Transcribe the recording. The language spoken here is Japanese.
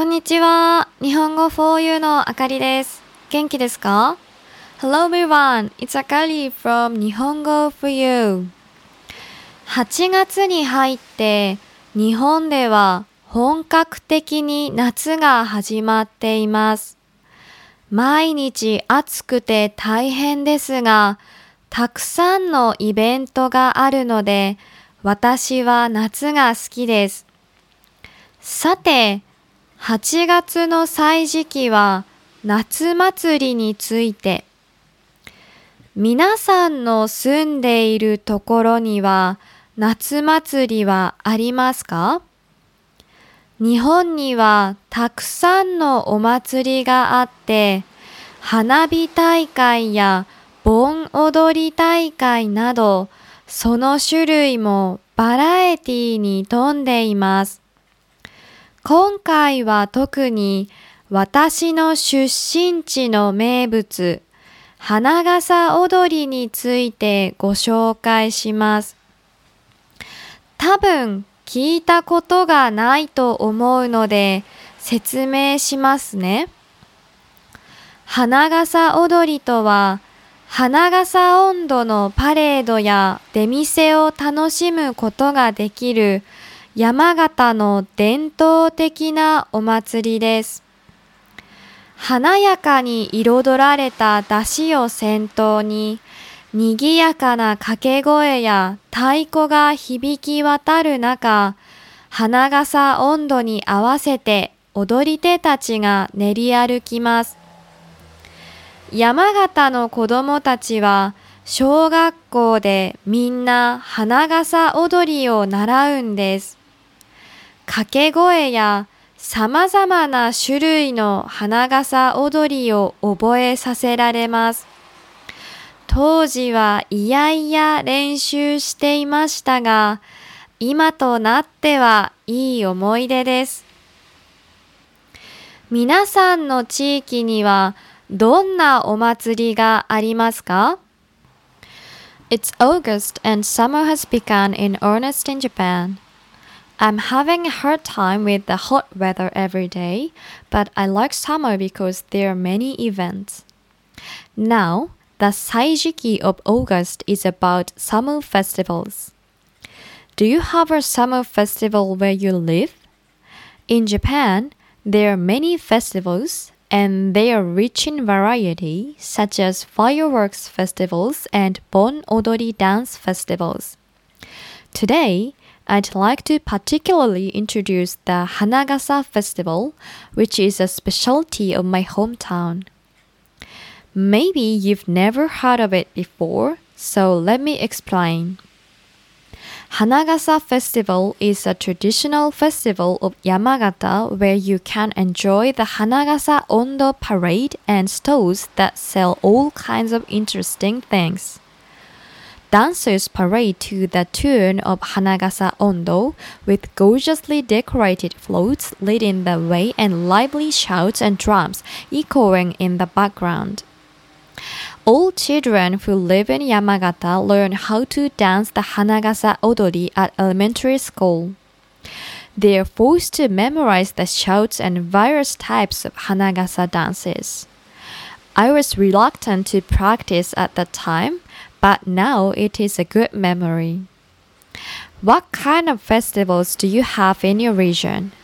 こんにちは。日本語 for you のあかりです。元気ですか？ Hello everyone, it's Akari from 日本語 for you。8月に入って日本では本格的に夏が始まっています。毎日暑くて大変ですが、たくさんのイベントがあるので、私は夏が好きです。さて、8月の歳時期は夏祭りについて。皆さんの住んでいるところには夏祭りはありますか？日本にはたくさんのお祭りがあって、花火大会や盆踊り大会など、その種類もバラエティに富んでいます。今回は特に私の出身地の名物、花笠踊りについてご紹介します。多分聞いたことがないと思うので説明しますね。花笠踊りとは、花笠音頭のパレードや出店を楽しむことができる山形の伝統的なお祭りです。華やかに彩られた出汁を先頭に、賑やかな掛け声や太鼓が響き渡る中、花笠音頭に合わせて踊り手たちが練り歩きます。山形の子供たちは、小学校でみんな花笠踊りを習うんです。掛け声や様々な種類の花笠踊りを覚えさせられます。当時はいやいや練習していましたが、今となってはいい思い出です。皆さんの地域にはどんなお祭りがありますか？ It's August and summer has begun in earnest in Japan.I'm having a hard time with the hot weather every day, but I like summer because there are many events. Now, the Saijiki of August is about summer festivals. Do you have a summer festival where you live? In Japan, there are many festivals, and they are rich in variety, such as fireworks festivals and Bon Odori dance festivals. Today,I'd like to particularly introduce the Hanagasa Festival, which is a specialty of my hometown. Maybe you've never heard of it before, so let me explain. Hanagasa Festival is a traditional festival of Yamagata where you can enjoy the Hanagasa Ondo parade and stalls that sell all kinds of interesting things.Dancers parade to the tune of Hanagasa Ondo with gorgeously decorated floats leading the way and lively shouts and drums echoing in the background. All children who live in Yamagata learn how to dance the Hanagasa Odori at elementary school. They are forced to memorize the shouts and various types of Hanagasa dances. I was reluctant to practice at the time,But now it is a good memory. What kind of festivals do you have in your region?